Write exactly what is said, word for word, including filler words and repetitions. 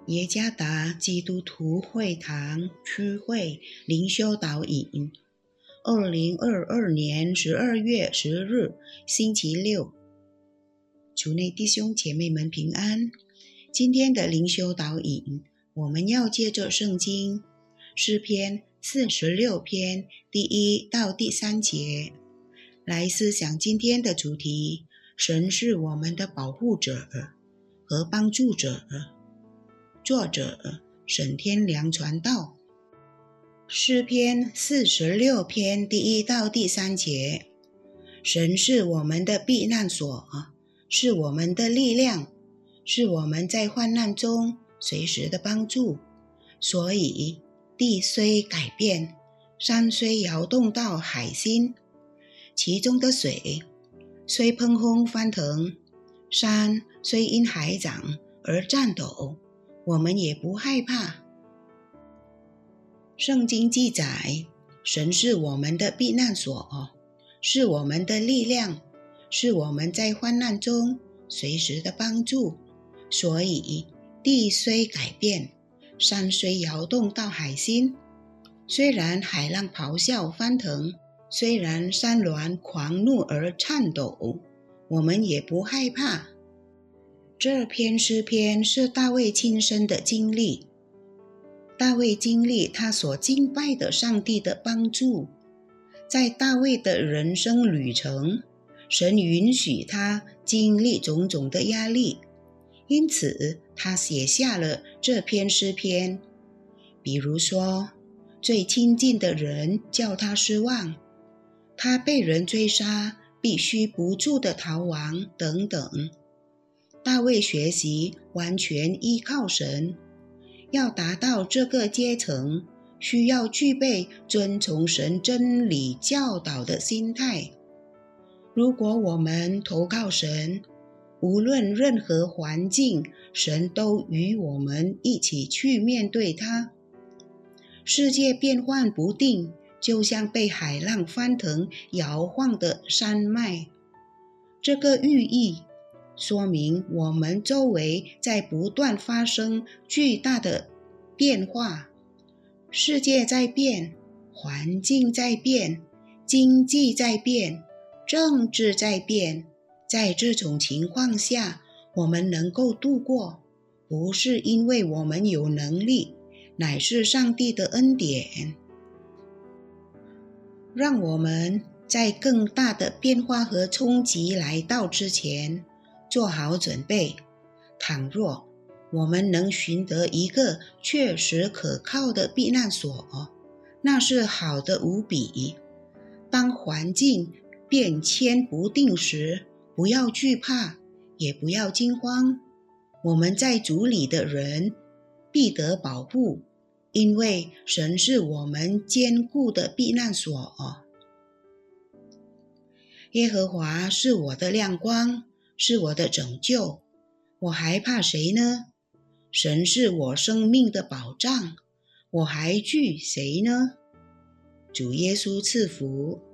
耶加达基督徒会堂区会灵修导引，二零二二年十二月十日，星期六。主内弟兄姐妹们平安。今天的灵修导引，我们要借着圣经诗篇四十六篇第一到第三节来思想今天的主题：神是我们的保护者和帮助者。作者沈天良传道。诗篇四十六篇第一到第三节，神是我们的避难所，是我们的力量，是我们在患难中随时的帮助。所以地虽改变，山虽摇动到海心，其中的水虽喷轰翻腾，山虽因海涨而颤抖，我们也不害怕。圣经记载，神是我们的避难所，是我们的力量，是我们在患难中随时的帮助。所以地虽改变，山虽摇动到海心，虽然海浪咆哮翻腾，虽然山峦狂怒而颤抖，我们也不害怕。这篇诗篇是大卫亲身的经历。大卫经历他所敬拜的上帝的帮助。在大卫的人生旅程，神允许他经历种种的压力，因此他写下了这篇诗篇。比如说，最亲近的人叫他失望，他被人追杀，必须不住的逃亡等等。大卫学习完全依靠神，要达到这个阶层，需要具备遵从神真理教导的心态。如果我们投靠神，无论任何环境，神都与我们一起去面对它。世界变幻不定，就像被海浪翻腾摇晃的山脉。这个寓意说明我们周围在不断发生巨大的变化，世界在变，环境在变，经济在变，政治在变。在这种情况下，我们能够度过，不是因为我们有能力，乃是上帝的恩典。让我们在更大的变化和冲击来到之前做好准备。倘若我们能寻得一个确实可靠的避难所，那是好的无比。当环境变迁不定时，不要惧怕，也不要惊慌。我们在主里的人必得保护，因为神是我们坚固的避难所。耶和华是我的亮光，是我的拯救，我还怕谁呢？神是我生命的保障，我还惧谁呢？主耶稣赐福。